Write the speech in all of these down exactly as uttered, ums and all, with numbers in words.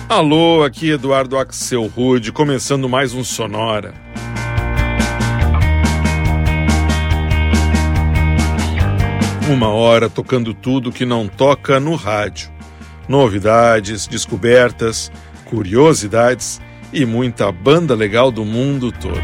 Alô, aqui Eduardo Axel Rude, começando mais um Sonora. Uma hora tocando tudo que não toca no rádio. Novidades, descobertas, curiosidades e muita banda legal do mundo todo.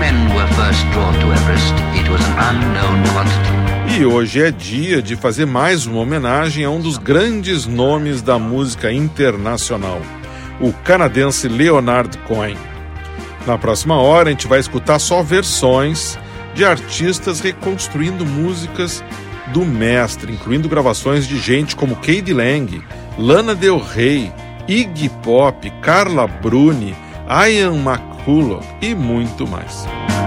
E hoje é dia de fazer mais uma homenagem a um dos grandes nomes da música internacional, o canadense Leonard Cohen. Na próxima hora a gente vai escutar só versões de artistas reconstruindo músicas do mestre, incluindo gravações de gente como K.D. Lang, Lana Del Rey, Iggy Pop, Carla Bruni, Ian McCulloch e muito mais.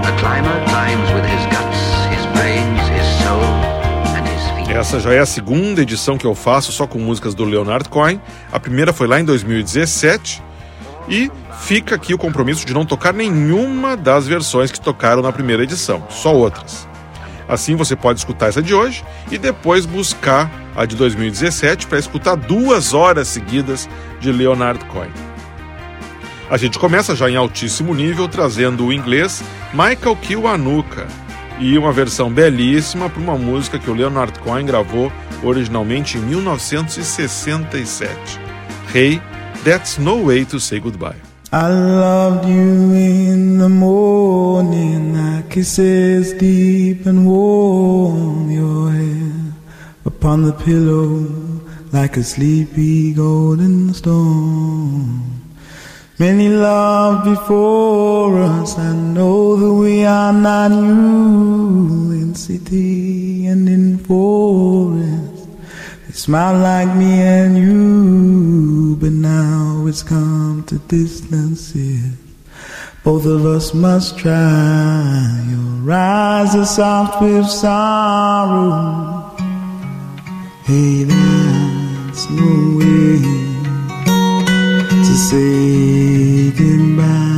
Essa já é a segunda edição que eu faço só com músicas do Leonard Cohen. A primeira foi lá em dois mil e dezessete e fica aqui o compromisso de não tocar nenhuma das versões que tocaram na primeira edição, só outras. Assim você pode escutar essa de hoje e depois buscar a de dois mil e dezessete para escutar duas horas seguidas de Leonard Cohen. A gente começa já em altíssimo nível trazendo o inglês Michael Kiwanuka e uma versão belíssima para uma música que o Leonard Cohen gravou originalmente em mil novecentos e sessenta e sete. Hey, That's No Way to Say Goodbye. I loved you in the morning, thy kisses deep and warm, your head upon the pillow like a sleepy golden storm. Many loved before us, I know that we are not you, in city and in forest. They smile like me and you, but now it's come to distances. Both of us must try. Your eyes are soft with sorrow. Hey, that's no way to say goodbye.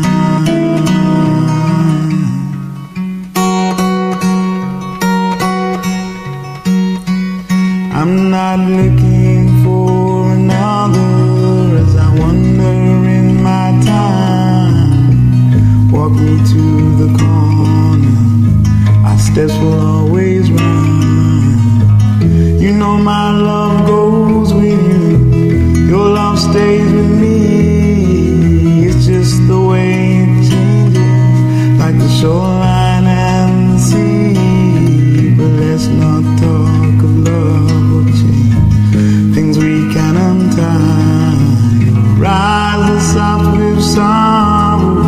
I'm not looking for another as I wander in my time. Walk me to the corner, our steps will always rhyme. You know my love goes with you, your love stays with me. It's just the way it changes, like the shoreline and the sea. But let's not talk of love or change, things we can untie. Your eyes are soft with sorrow.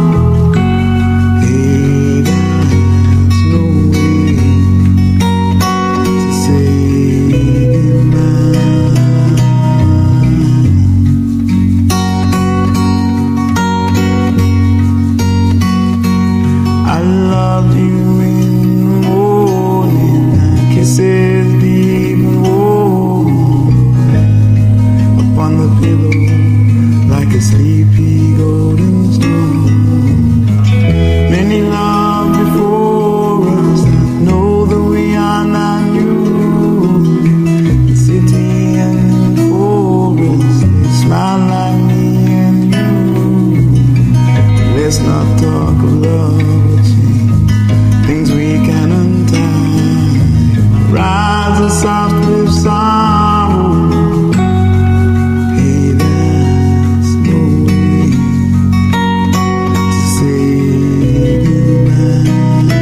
Hey, there's no way to say goodbye. I loved you in the morning, I kisses deep and warm, upon the pillow like a sleepy golden storm. Many loved before us, I know that we are not new, in city and in forest, they smile like me and you. Let's not talk of love or change, things we can untie. Rise are soft with sorrow. Hey, there's no way to say goodbye.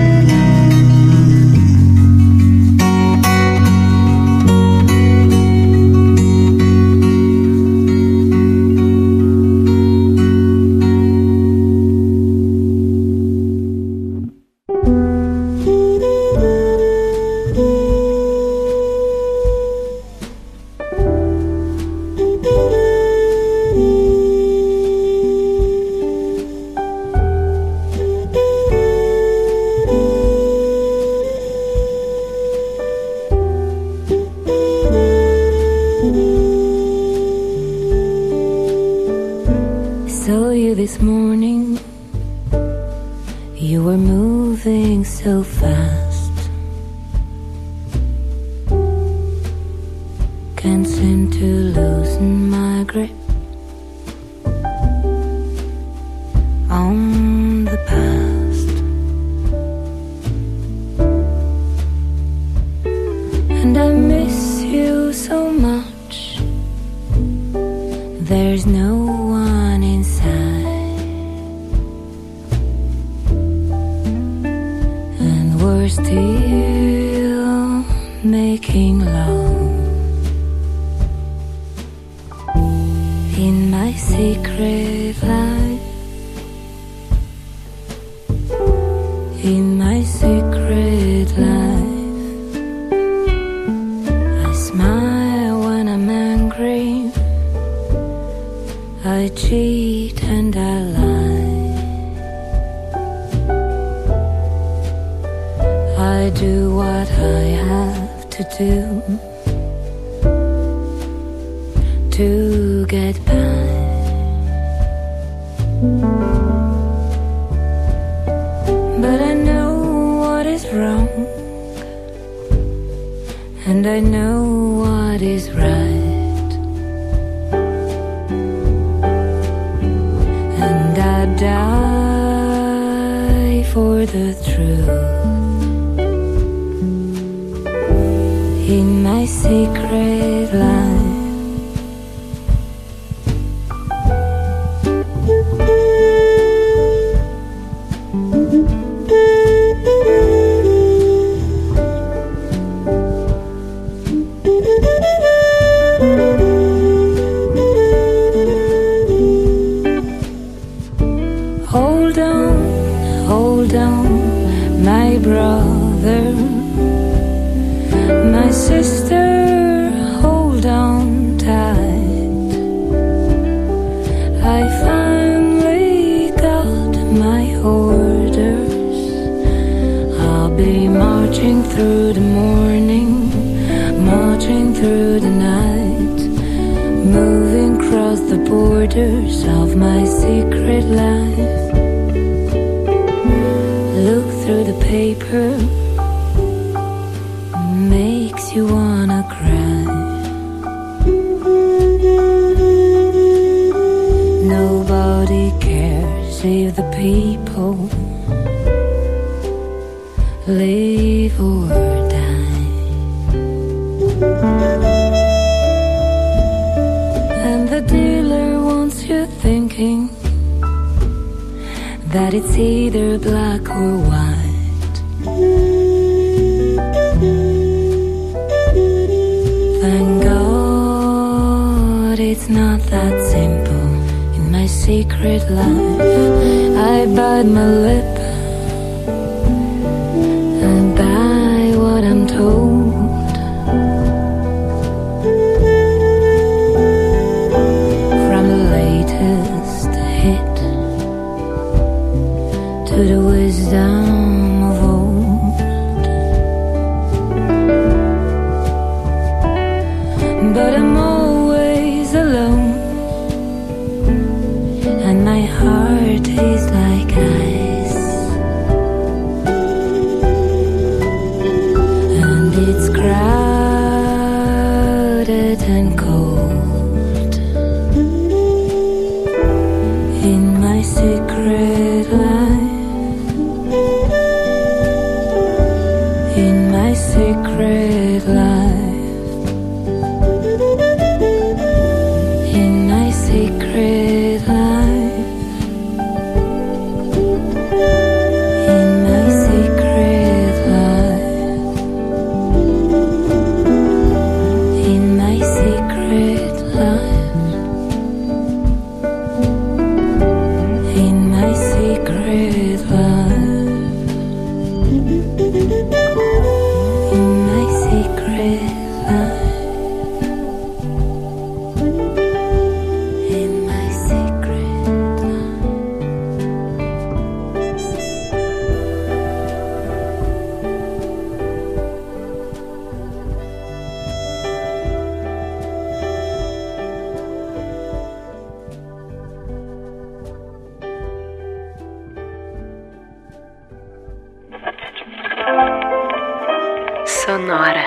Saw you this morning, you were moving so fast. Can't seem to loosen my grip. there's no one inside, and we're still making love in my secret life, in my secret life. I smile when I'm angry, I cheat and I lie, I do what I have to do to get by. But I know what is wrong, and I know what is right, and I die for the truth in my secret life. Hold on, hold on, my brother, my sister, hold on tight. I finally got my orders. I'll be marching through the morning, marching through the night, moving across the borders of my secret life. Look through the paper, makes you wanna cry. Nobody cares if the people live or die. And the dealer wants you thinking that it's either black or white. Thank God it's not that simple. In my secret life, I bite my lip and buy what I'm told. From the latest hit to the wisdom of old. But I'm always alone, and my heart is like ice, and it's crowded and cold in my secret life, in my secret life. Secret life, in my secret life, in my secret life, in my secret life, in my secret life. Sonora.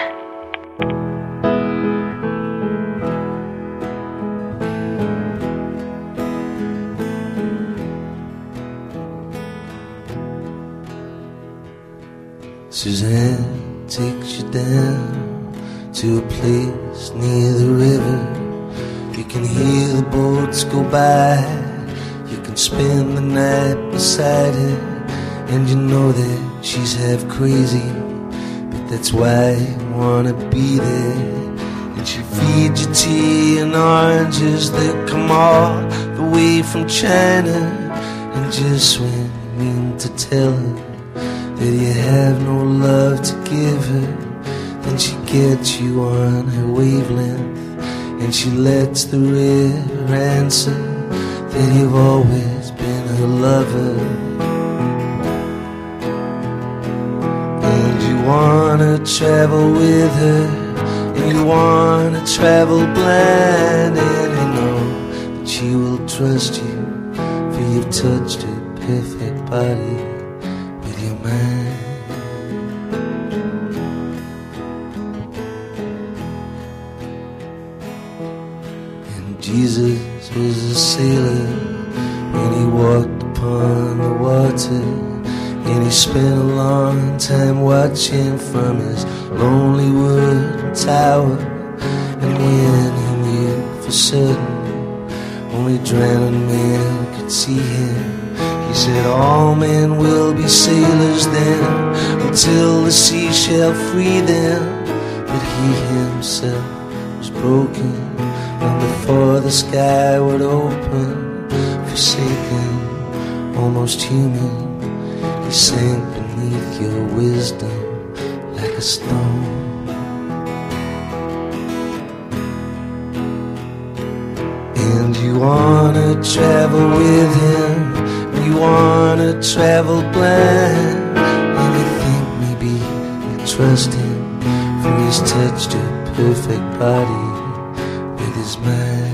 Suzanne takes you down to a place near the river. You can hear the boats go by. You can spend the night beside her, and you know that she's half crazy, but that's why you wanna be there. And she feeds you tea and oranges that come all the way from China. And just when you mean to tell her that you have no love to give her, then she gets you on her wavelength, and she lets the river answer that you've always been her lover. And you wanna travel with her, and you wanna travel blind, and you know that she will trust you, for you've touched her perfect body with your mind. Jesus was a sailor when he walked upon the water, and he spent a long time watching from his lonely wooden tower. And when he knew for certain only drowning men could see him, he said, all men will be sailors then, until the sea shall free them. But he himself was broken long before the sky would open. Forsaken, almost human, he sank beneath your wisdom like a stone. And you wanna travel with him, you wanna travel blind, and you think maybe you trust him, for he's touched your perfect body with his mind.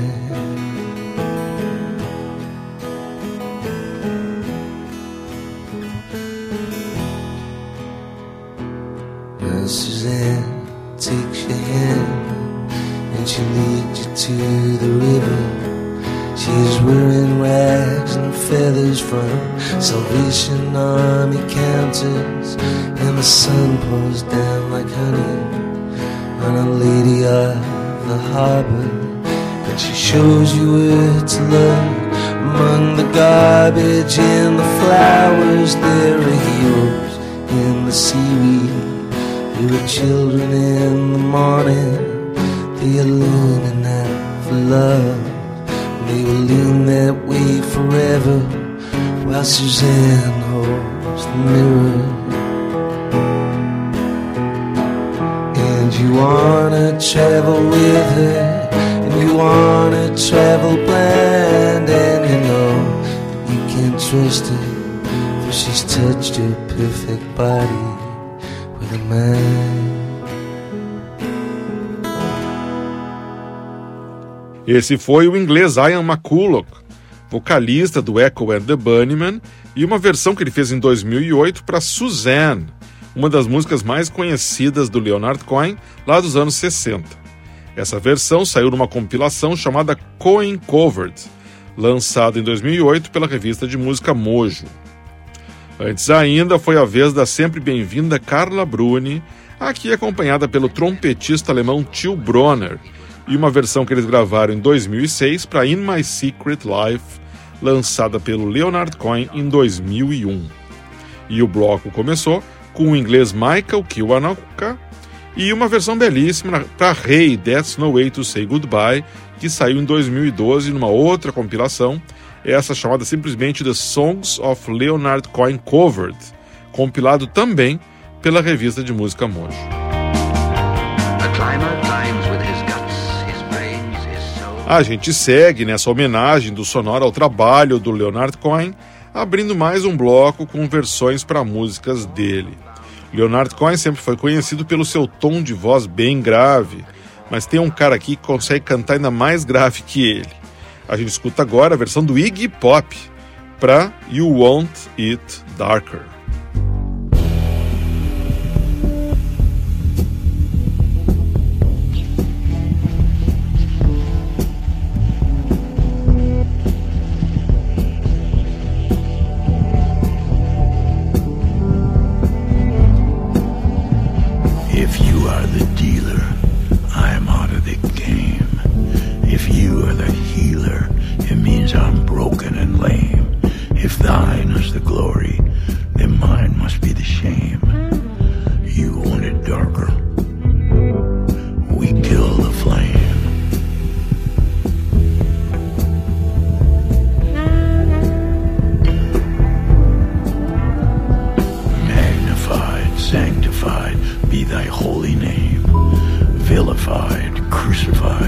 Now Suzanne takes your hand, and she leads you to the river. She's wearing rags and feathers from Salvation Army counters, and the sun pours down like honey on a lady of the harbor. And she shows you where to look among the garbage and the flowers. There are heroes in the seaweed, there are children in the morning. They are leaning out for love, they will lean that way forever, while Suzanne holds the mirror. And you wanna travel with her, and you wanna travel blind, and you know that you can't trust her, for she's touched your perfect body with her mind. Esse foi o inglês Ian McCulloch, vocalista do Echo and the Bunnymen, e uma versão que ele fez em dois mil e oito para Suzanne, uma das músicas mais conhecidas do Leonard Cohen, lá dos anos sessenta. Essa versão saiu numa compilação chamada Cohen Covered, lançada em dois mil e oito pela revista de música Mojo. Antes ainda foi a vez da sempre bem-vinda Carla Bruni, aqui acompanhada pelo trompetista alemão Till Bronner, e uma versão que eles gravaram em dois mil e seis para In My Secret Life, lançada pelo Leonard Cohen em dois mil e um. E o bloco começou com o inglês Michael Kiwanuka e uma versão belíssima para Hey, That's No Way to Say Goodbye, que saiu em dois mil e doze numa outra compilação, essa chamada simplesmente The Songs of Leonard Cohen Covered, compilado também pela revista de música Mojo. A gente segue nessa homenagem do sonoro ao trabalho do Leonard Cohen, abrindo mais um bloco com versões para músicas dele. Leonard Cohen sempre foi conhecido pelo seu tom de voz bem grave, mas tem um cara aqui que consegue cantar ainda mais grave que ele. A gente escuta agora a versão do Iggy Pop para You Want It Darker. If you are the dealer, I'm out of the game. If you are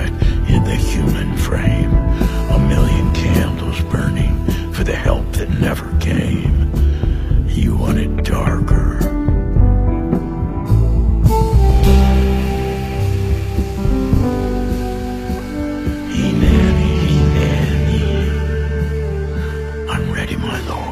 inside in the human frame. A million candles burning for the help that never came. You want it darker. He-nanny, he-nanny, I'm ready, my lord.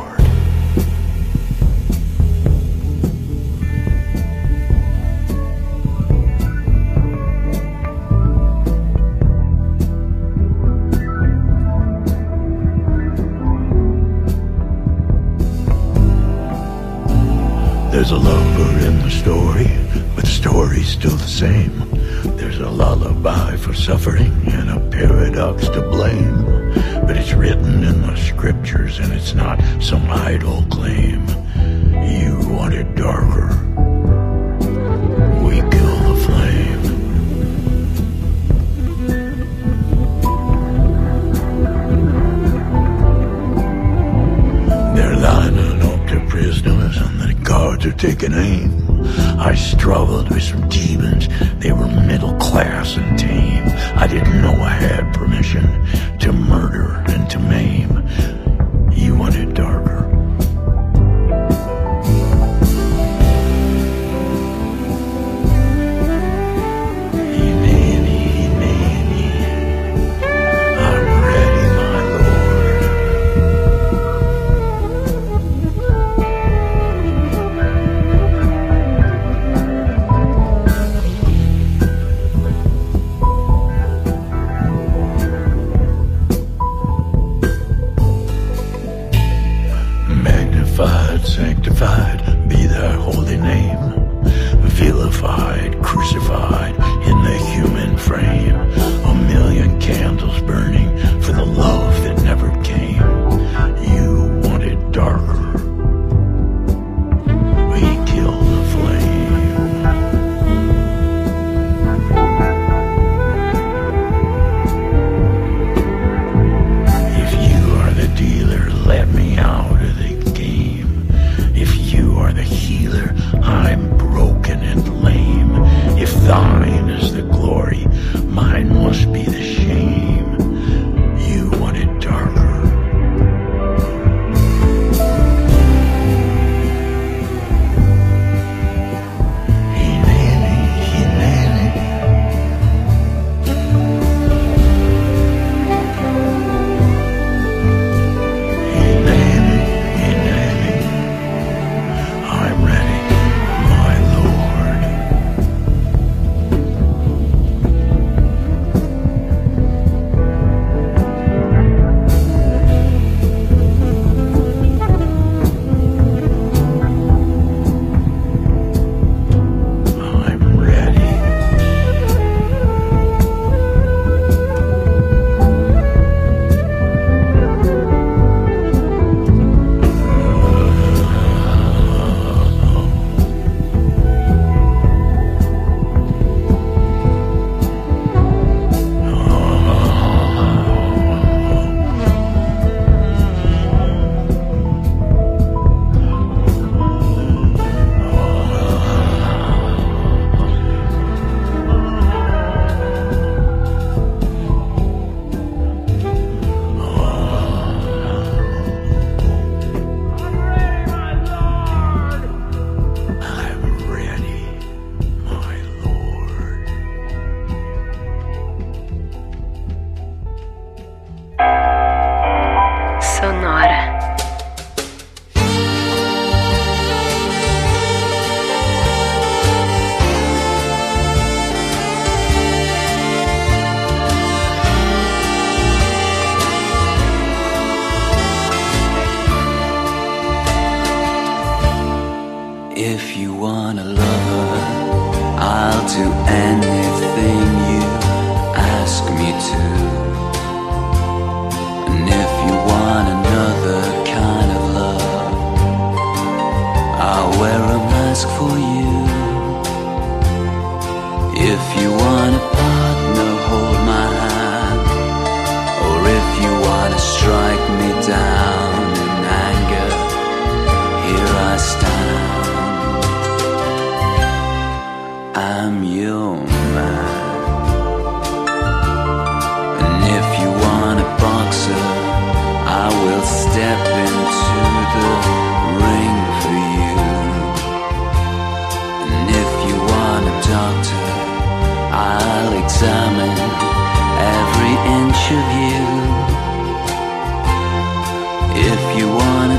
There's a lover in the story, but the story's still the same. There's a lullaby for suffering and a paradox to blame. But it's written in the scriptures and it's not some idle claim. You want it darker, we kill the flame. They're lining up their prisoners and the guards are taking aim. I struggled with some demons, they were middle class and tame. I didn't know I had permission to murder and to maim. You want it darker. He-nanny, he-nanny, I'm ready, my lord.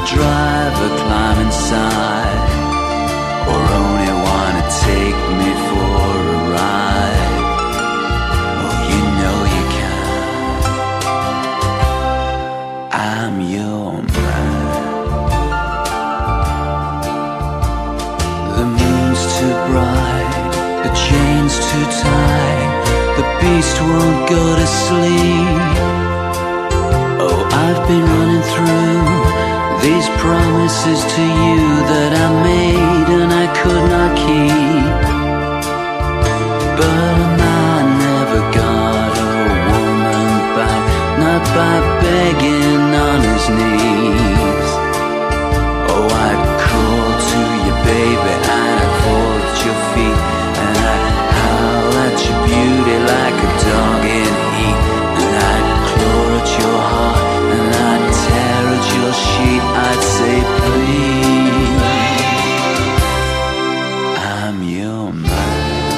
driver climb inside, or only wanna take me for a ride. Oh, you know you can. I'm your man. The moon's too bright, the chain's too tight, the beast won't go to sleep. Oh, I've been running through these promises to you that I made and I could not keep. But a man never got a woman back, not by begging on his knees. Oh, I'd crawl to you, baby, and I'd fall at your feet, and I'd howl at your beauty like a dog in heat, and I'd claw at your heart, and I'd tear at your sheet. I'd say please, I'm your man.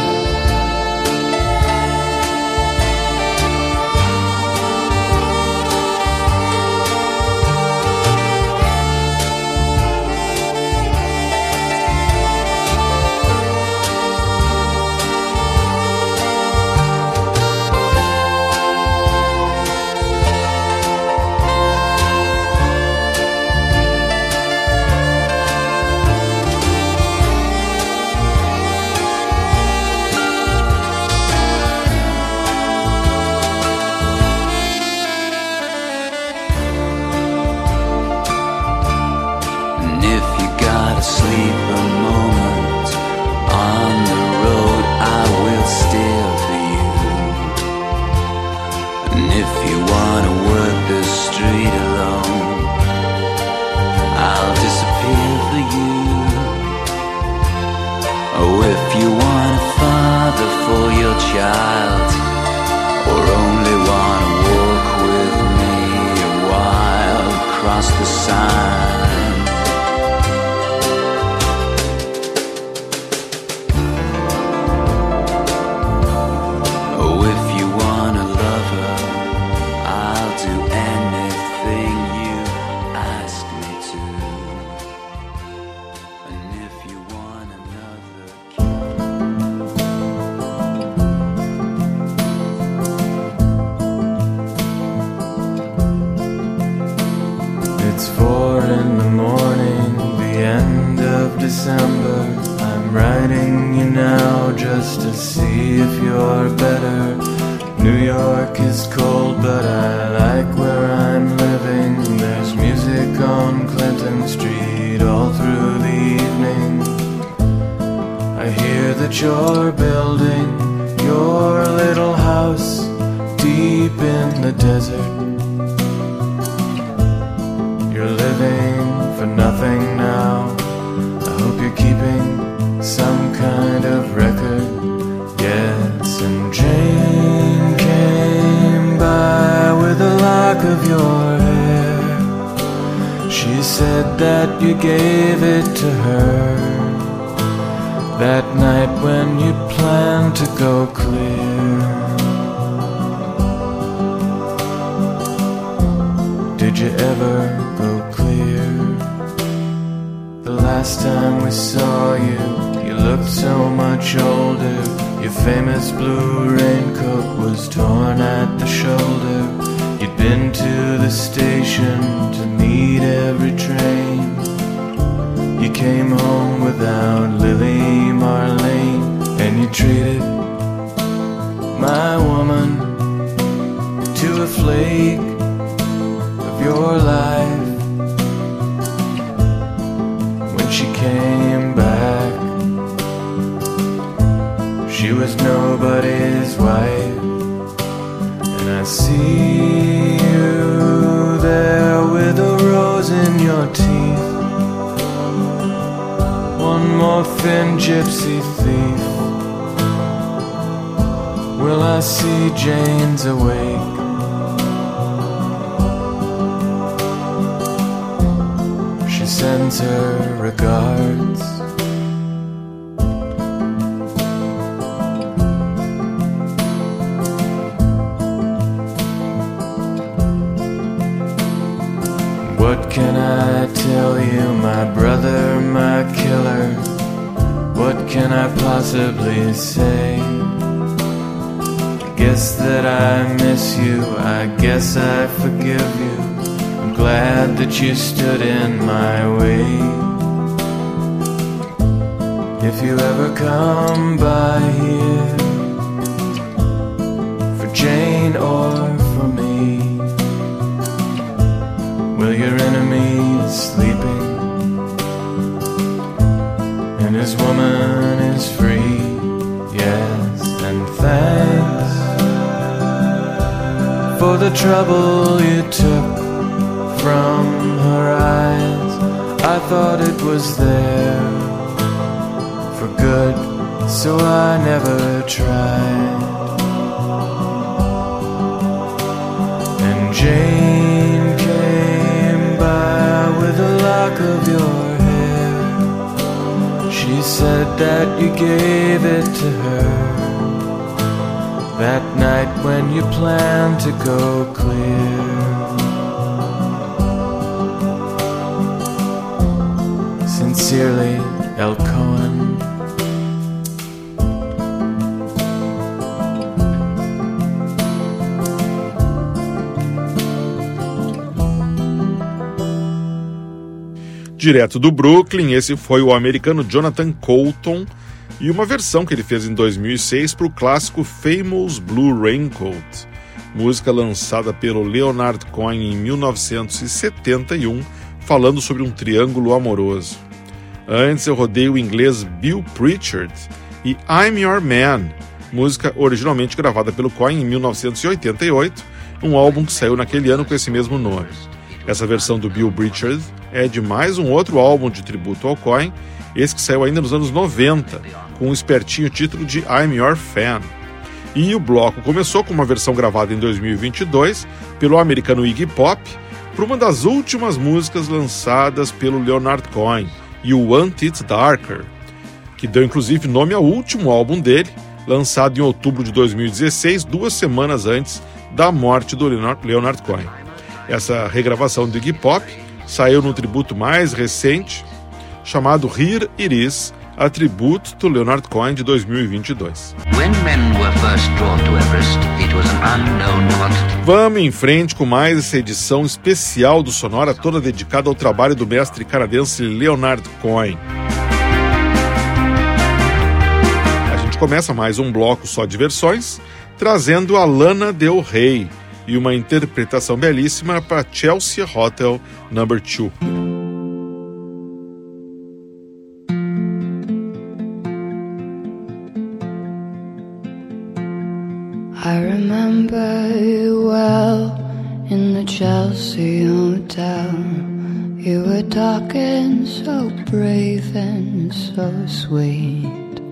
Sleep a moment on the road, I will steer for you. And if you wanna work the street alone, I'll disappear for you. Oh, if you want a father for your child, or only wanna walk with me a while across the sign. December, I'm writing you now just to see if you're better. New York is cold, but I like where I'm living. There's music on Clinton Street all through the evening. I hear that you're building your little house deep in the desert. You're living for nothing now. Hope you're keeping some kind of record. Yes, and Jane came by with a lock of your hair. She said that you gave it to her that night when you planned to go clear. Did you ever go clear? The last time we saw you, you looked so much older. Your famous blue raincoat was torn at the shoulder. You'd been to the station to meet every train. You came home without Lily Marlene, and you treated my woman to a flake of your life. She came back, she was nobody's wife. And I see you there with a rose in your teeth, one more thin gypsy thief. Will I see Jane's awake? She sends her regards. What can I tell you, my brother, my killer? What can I possibly say? I guess that I miss you, I guess I forgive you. I'm glad that you stood in my way. If you ever come by here, for Jane or for me, will your enemy is sleeping and his woman is free? Yes, and thanks for the trouble you took from her eyes. I thought it was there for good, so I never tried. And Jane came by with a lock of your hair. She said that you gave it to her that night when you planned to go clear. Sincerely, El Cohen. Direto do Brooklyn, esse foi o americano Jonathan Coulton e uma versão que ele fez em dois mil e seis para o clássico Famous Blue Raincoat, música lançada pelo Leonard Cohen em mil novecentos e setenta e um, falando sobre um triângulo amoroso. Antes eu rodei o inglês Bill Pritchard e I'm Your Man, música originalmente gravada pelo Cohen em mil novecentos e oitenta e oito, um álbum que saiu naquele ano com esse mesmo nome. Essa versão do Bill Pritchard é de mais um outro álbum de tributo ao Cohen, esse que saiu ainda nos anos noventa, com um espertinho título de I'm Your Fan. E o bloco começou com uma versão gravada em dois mil e vinte e dois pelo americano Iggy Pop, para uma das últimas músicas lançadas pelo Leonard Cohen, You Want It Darker, que deu inclusive nome ao último álbum dele, lançado em outubro de dois mil e dezesseis, duas semanas antes da morte do Leonard Cohen. Essa regravação do Iggy Pop saiu no tributo mais recente, chamado Here It Is, a tributo do Leonard Cohen de dois mil e vinte e dois. Vamos em frente com mais essa edição especial do Sonora, toda dedicada ao trabalho do mestre canadense Leonard Cohen. A gente começa mais um bloco só de versões, trazendo a Lana Del Rey e uma interpretação belíssima para Chelsea Hotel número dois. I remember you well in the Chelsea Hotel. You were talking so brave and so sweet,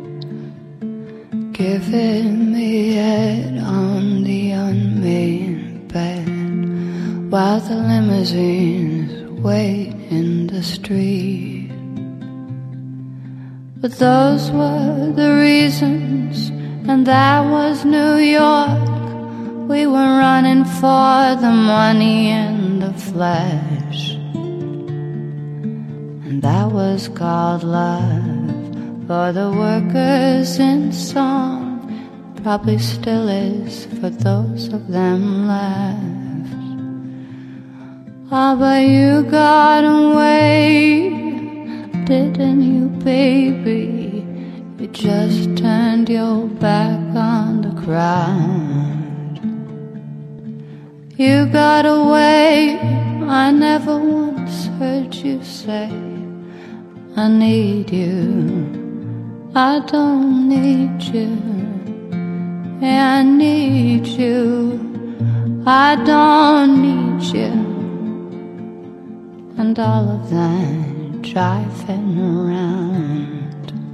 giving me head on the unmade bed while the limousines wait in the street. But those were the reasons, and that was New York. We were running for the money and the flesh, and that was called love for the workers in song, probably still is for those of them left. Ah, but you got away, didn't you, baby? You just turned your back on the crowd. You got away, I never once heard you say, I need you, I don't need you. Yeah, I need you, I don't need you. And all of that driving around.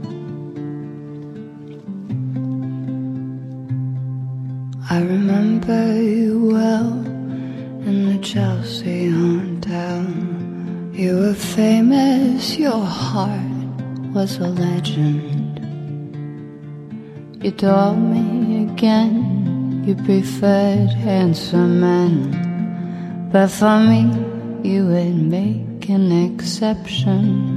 I remember you well in the Chelsea Hotel. You were famous, your heart was a legend. You told me again you preferred handsome men, but for me you would make an exception.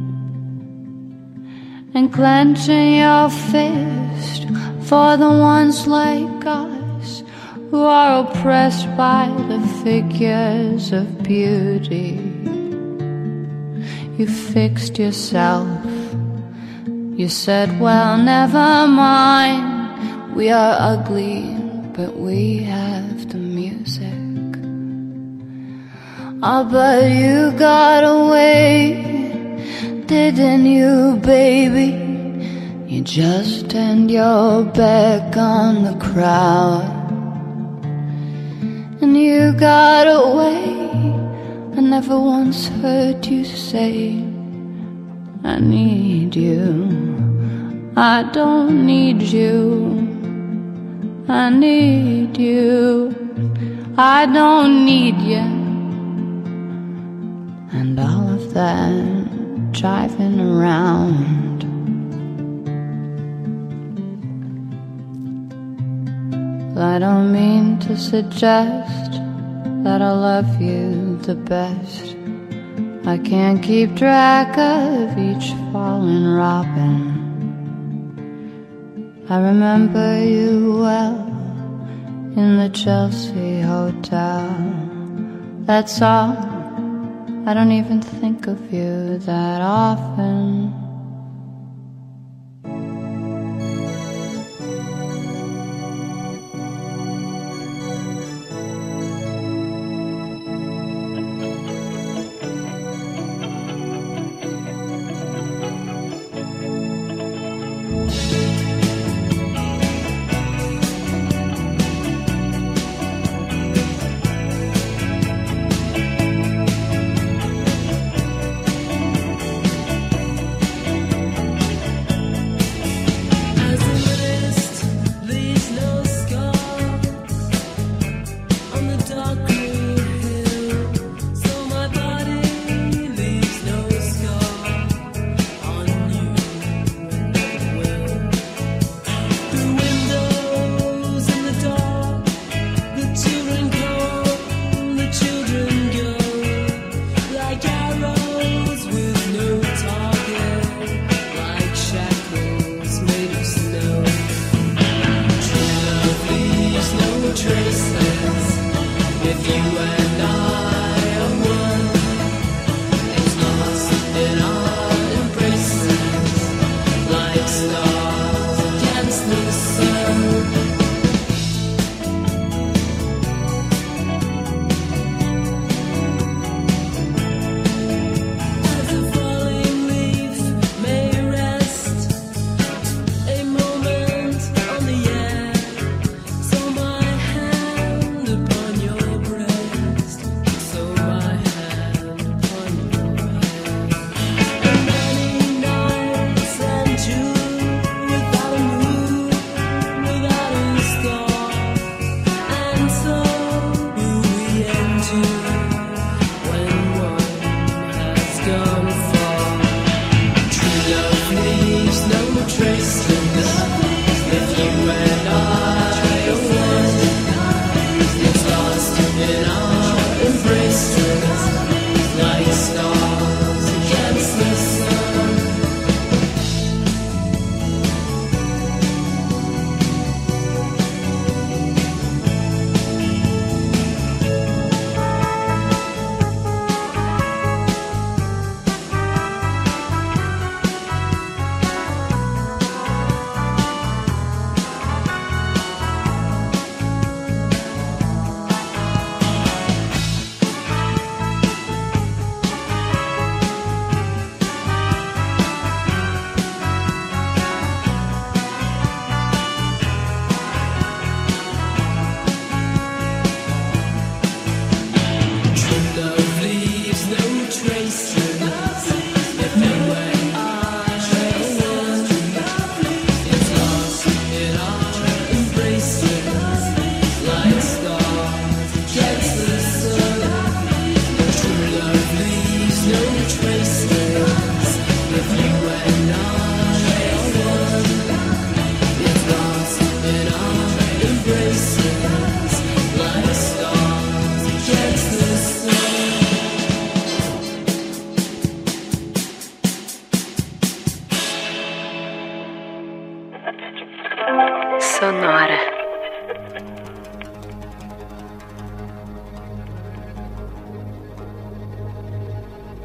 And clenching your fist for the ones like us who are oppressed by the figures of beauty. You fixed yourself. You said, well, never mind. We are ugly, but we have the music. Oh, but you got away, didn't you, baby? You just turned your back on the crowd. And you got away. I never once heard you say, I need you. I don't need you. I need you. I don't need you. And all of that driving around. I don't mean to suggest that I love you the best. I can't keep track of each fallen robin. I remember you well in the Chelsea Hotel. That's all. I don't even think of you that often.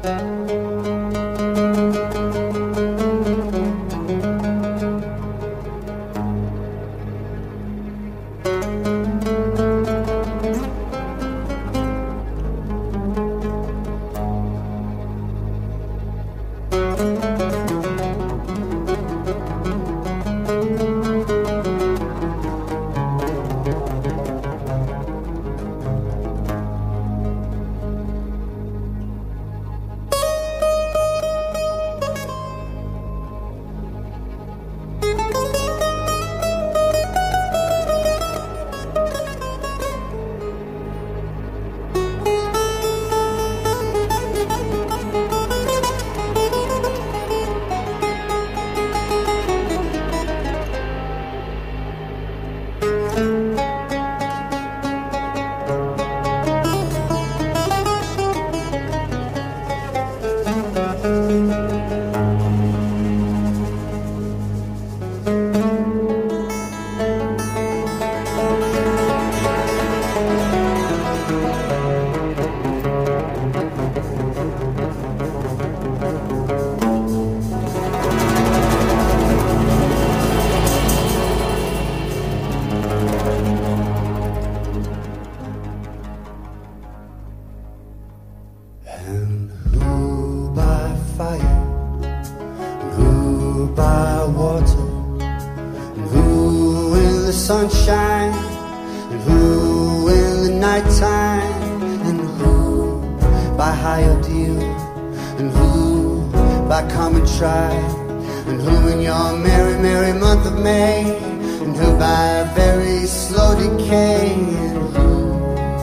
Sunshine, and who in the nighttime, and who by higher deal, and who by common trial, and who in your merry, merry month of May, and who by very slow decay, and who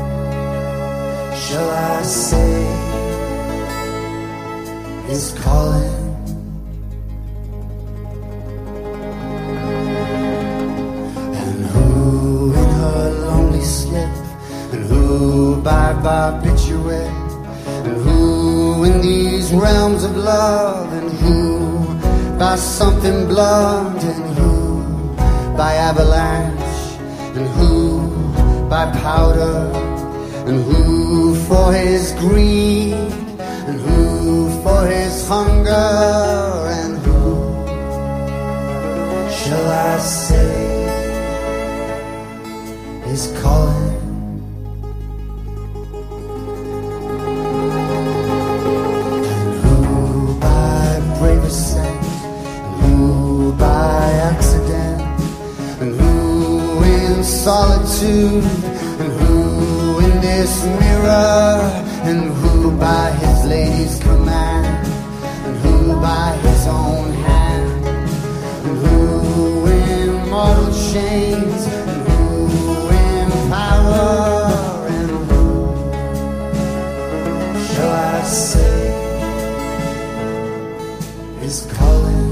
shall I say is calling? By barbiturate, and who in these realms of love, and who by something blunt, and who by avalanche, and who by powder, and who for his greed, and who for his hunger, and who shall I say is calling? Solitude, and who in this mirror, and who by his lady's command, and who by his own hand, and who in mortal chains, and who in power, and who shall I say is calling?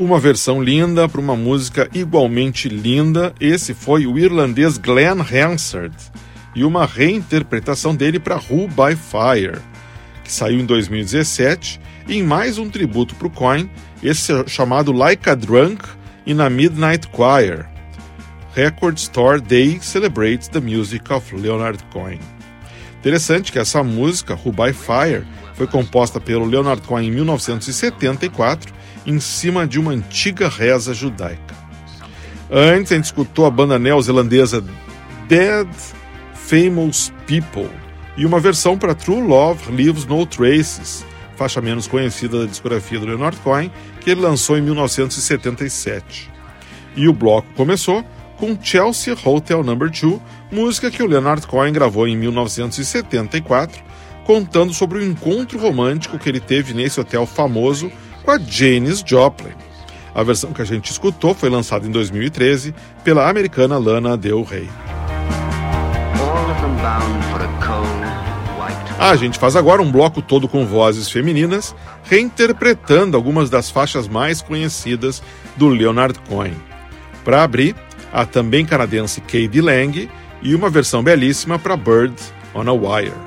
uma versão linda para uma música igualmente linda. Esse foi o irlandês Glenn Hansard e uma reinterpretação dele para Who by Fire, que saiu em dois mil e dezessete, e em mais um tributo para o Coyne, esse chamado Like a Drunk in a Midnight Choir. Record Store Day celebrates the music of Leonard Cohen. Interessante que essa música, Who by Fire, foi composta pelo Leonard Cohen em mil novecentos e setenta e quatro, em cima de uma antiga reza judaica. Antes, a gente escutou a banda neozelandesa Dead Famous People e uma versão para True Love Leaves No Traces, faixa menos conhecida da discografia do Leonard Cohen, que ele lançou em mil novecentos e setenta e sete. E o bloco começou com Chelsea Hotel número dois, música que o Leonard Cohen gravou em mil novecentos e setenta e quatro, contando sobre o encontro romântico que ele teve nesse hotel famoso com a Janis Joplin. A versão que a gente escutou foi lançada em dois mil e treze pela americana Lana Del Rey. A gente faz agora um bloco todo com vozes femininas, reinterpretando algumas das faixas mais conhecidas do Leonard Cohen. Para abrir, a também canadense K.D. Lang e uma versão belíssima para Bird on a Wire.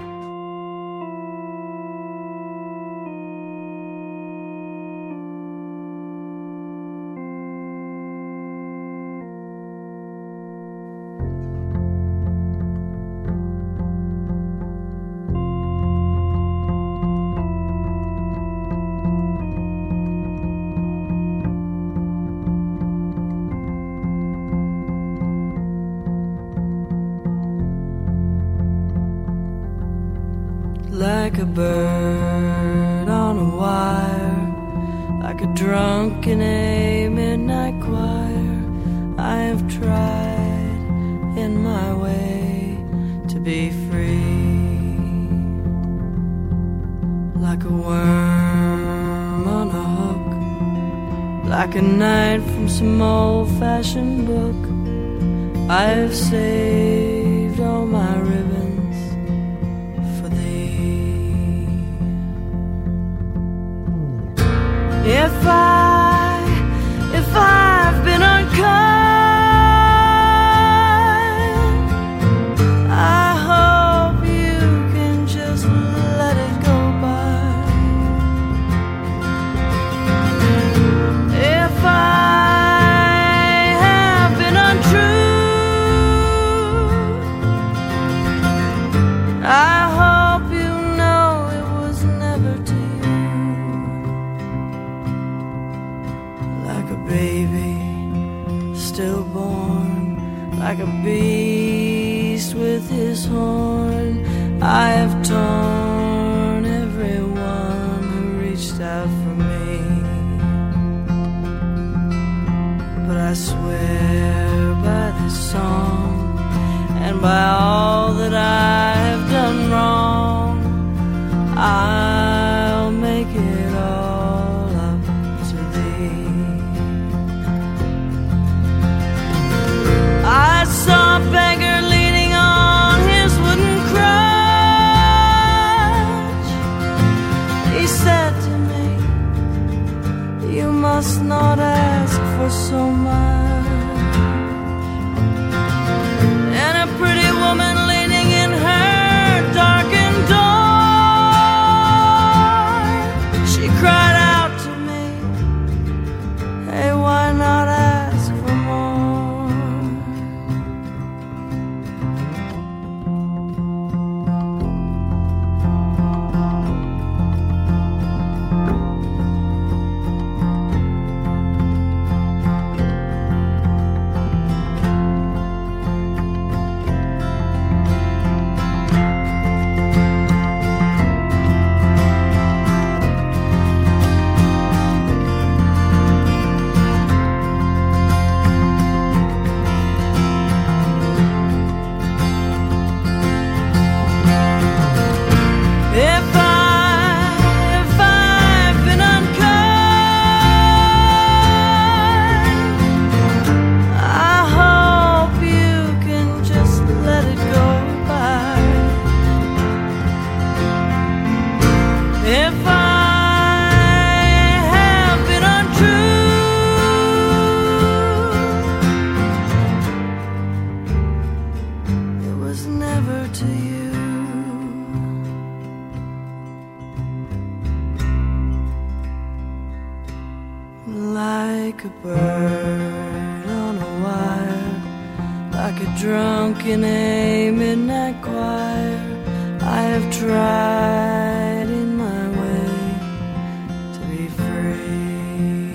Like a bird on a wire, like a drunk in a midnight choir, I have tried in my way to be free. Like a worm on a hook, like a knight from some old-fashioned book, I have saved all my ribbons. If I, if I've been unkind, I hope you can just let it go by. If I have been untrue, I hope you know it was never to you. Baby, stillborn, like a beast with his horn, I have torn everyone who reached out for me. But I swear by this song and by all that I have done wrong, I'll make it all up to thee. I saw a beggar leaning on his wooden crutch. He said to me, you must not ask for so much. And a pretty woman leaning in her darkened door, she cried out to me, hey, why not ask for more? like a bird on a wire, like a drunk in a midnight choir. I have tried in my way to be free.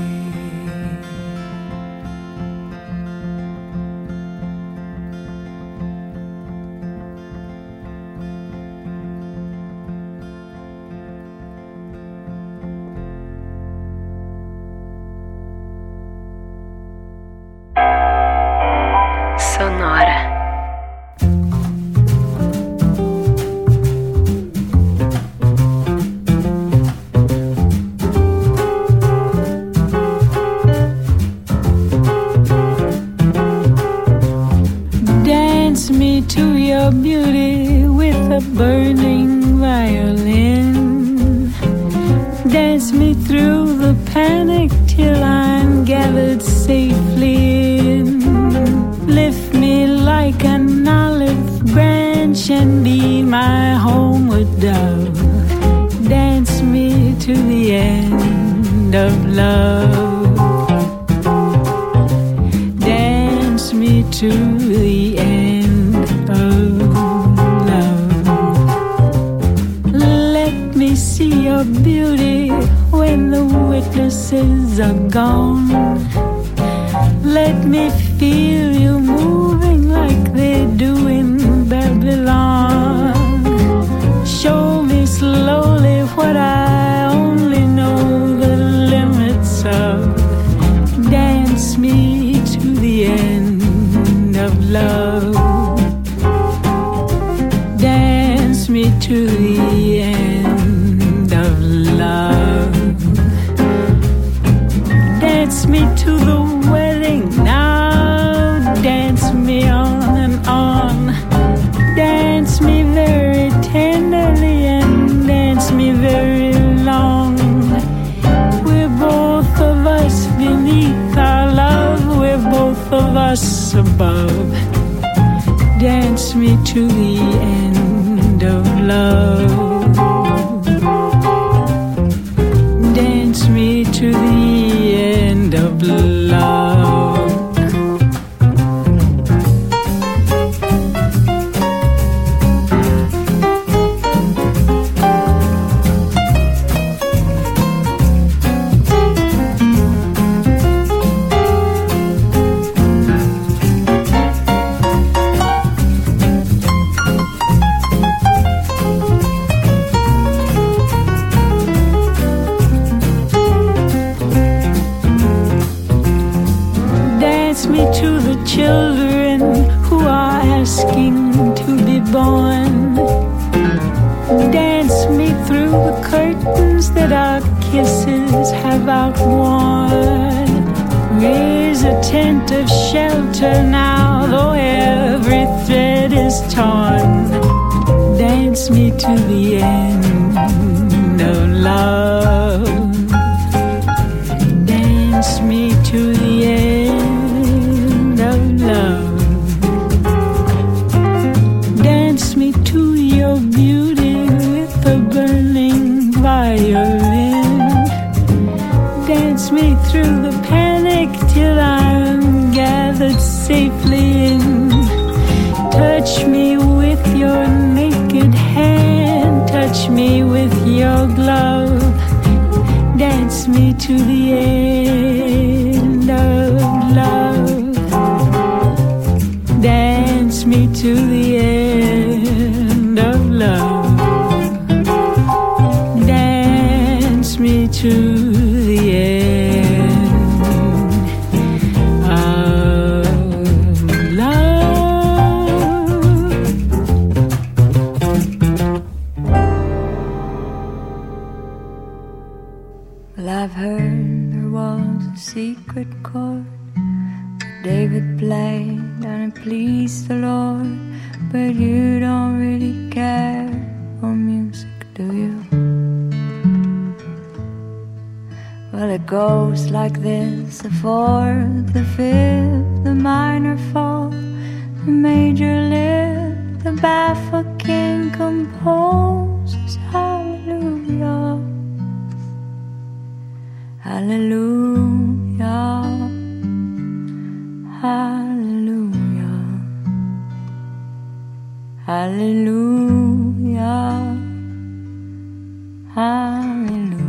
Sonora. Dance me to your beauty with a burning violin. Dance me through the panic till I'm gathered safely in. Lift me like an olive branch and be my homeward dove. Dance me to the end of love. Dance me to the end of love. Let me see your beauty when the witnesses are gone. Let me feel you moving like they do in Babylon. Show me slowly what I only know the limits of. Dance me to the end of love. Dance me to the end of love. Dance me to the wedding now. Dance me on and on. Dance me very tenderly and dance me very long. We're both of us beneath our love. We're both of us above. Dance me to the end of love. Dance me to the end of love. Dance me to the children who are asking to be born. Dance me through the curtains that our kisses have outworn. Raise a tent of shelter now, though every thread is torn. Dance me to the end of love. Dance me to the end of love. Dance me to your beauty with a burning violin. Dance me through the panic till I'm gathered safely in. Touch me with your naked hand. Touch me with your glove. Dance me to the end of love. Dance me to the end of love. Dance me to the end of love. Well, I've heard there was a secret chord David played and it pleased the Lord. But you don't really care for music, do you? Well, it goes like this: the fourth, the fifth, the minor fall, the major lift, the baffled king composes hallelujah, hallelujah. hallelujah.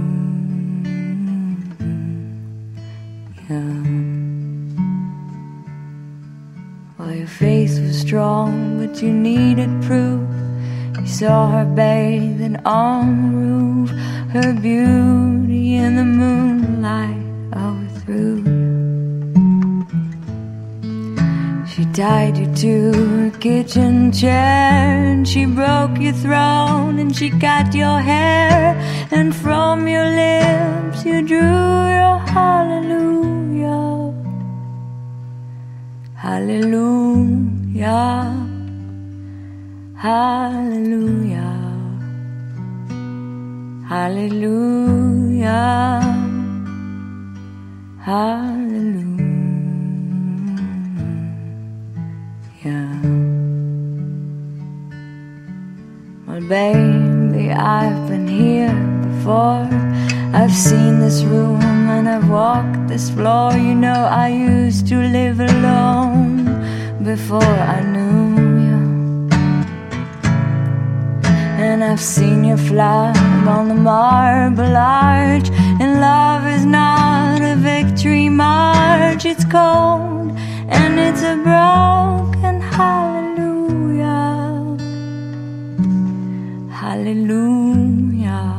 Well, your face was strong, but you needed proof. You saw her bathing on the roof, her beauty in the moonlight overthrew you. She tied you to her kitchen chair, and she broke your throne, and she cut your hair, and from your lips you drew your hallelujah. Hallelujah. Hallelujah. Hallelujah. Hallelujah. Well, baby, I've been here before. I've seen this room and I've walked this floor. You know, I used to live alone before I knew you. And I've seen your flag on the marble arch. And love is not a victory march. It's cold and it's a broken hallelujah. Hallelujah.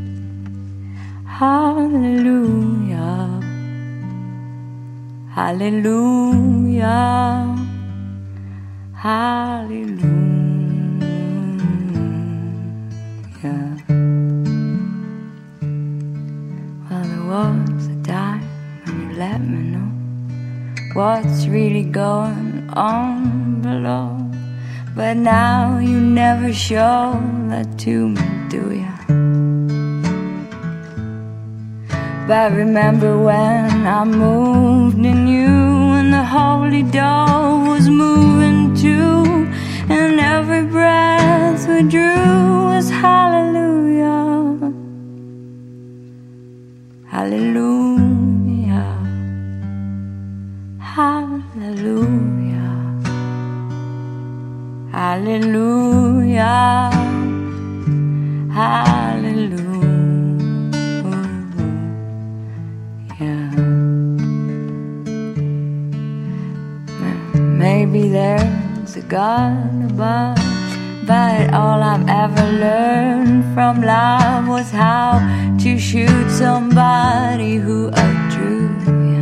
Hallelujah. Hallelujah. Hallelujah. Well, there was a time when you let me know what's really going on below. But now you never show that to me, do ya? But remember when I moved in you, and the holy dove was moving too, and every breath we drew was hallelujah. Hallelujah. Hallelujah. Hallelujah. Hallelujah. Maybe there's a God above, but all I've ever learned from love was how to shoot somebody who outdrew you.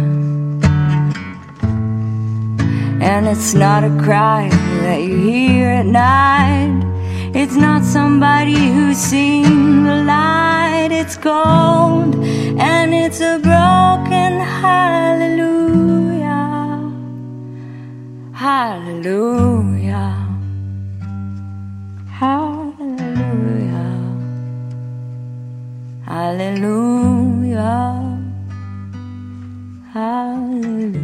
And it's not a cry that you hear at night. It's not somebody who's seen the light. It's cold and it's a broken hallelujah. Hallelujah. Hallelujah. Hallelujah. Hallelujah.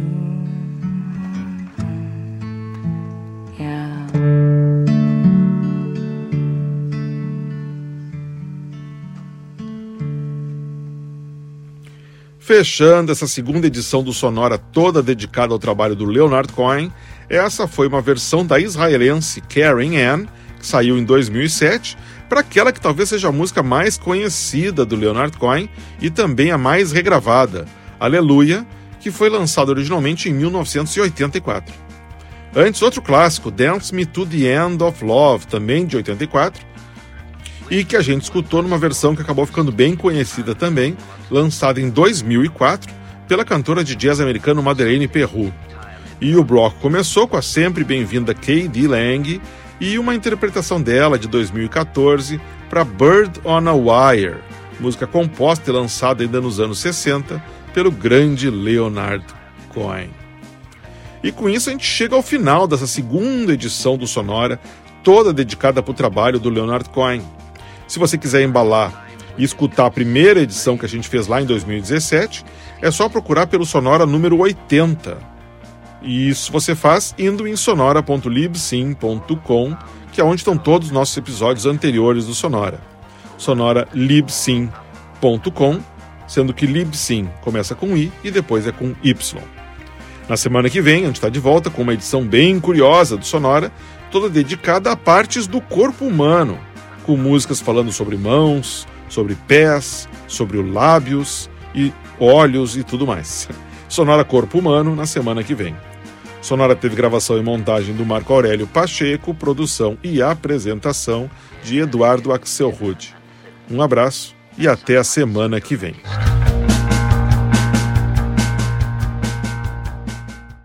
Fechando essa segunda edição do Sonora, toda dedicada ao trabalho do Leonard Cohen, essa foi uma versão da israelense Karen Ann, que saiu em dois mil e sete, para aquela que talvez seja a música mais conhecida do Leonard Cohen e também a mais regravada, Aleluia, que foi lançada originalmente em mil novecentos e oitenta e quatro. Antes, outro clássico, Dance Me to the End of Love, também de oitenta e quatro, e que a gente escutou numa versão que acabou ficando bem conhecida também, lançada em dois mil e quatro pela cantora de jazz americano Madeleine Peru. E o bloco começou com a sempre bem-vinda K D Lang e uma interpretação dela de dois mil e quatorze para Bird on a Wire, música composta e lançada ainda nos anos sessenta pelo grande Leonard Cohen. E com isso a gente chega ao final dessa segunda edição do Sonora, toda dedicada para o trabalho do Leonard Cohen. Se você quiser embalar e escutar a primeira edição que a gente fez lá em dois mil e dezessete, é só procurar pelo Sonora número oitenta. E isso você faz indo em sonora ponto libsyn ponto com, que é onde estão todos os nossos episódios anteriores do Sonora. sonora libsyn ponto com, sendo que Libsyn começa com I e depois é com Y. Na semana que vem, a gente está de volta com uma edição bem curiosa do Sonora, toda dedicada a partes do corpo humano, com músicas falando sobre mãos, sobre pés, sobre o lábios e olhos e tudo mais. Sonora Corpo Humano na semana que vem. Sonora teve gravação e montagem do Marco Aurélio Pacheco, produção e apresentação de Eduardo Axelrod. Um abraço e até a semana que vem.